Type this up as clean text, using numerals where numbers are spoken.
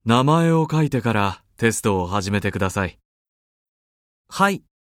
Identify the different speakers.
Speaker 1: 名前を書いてからテストを始めてください。
Speaker 2: はい。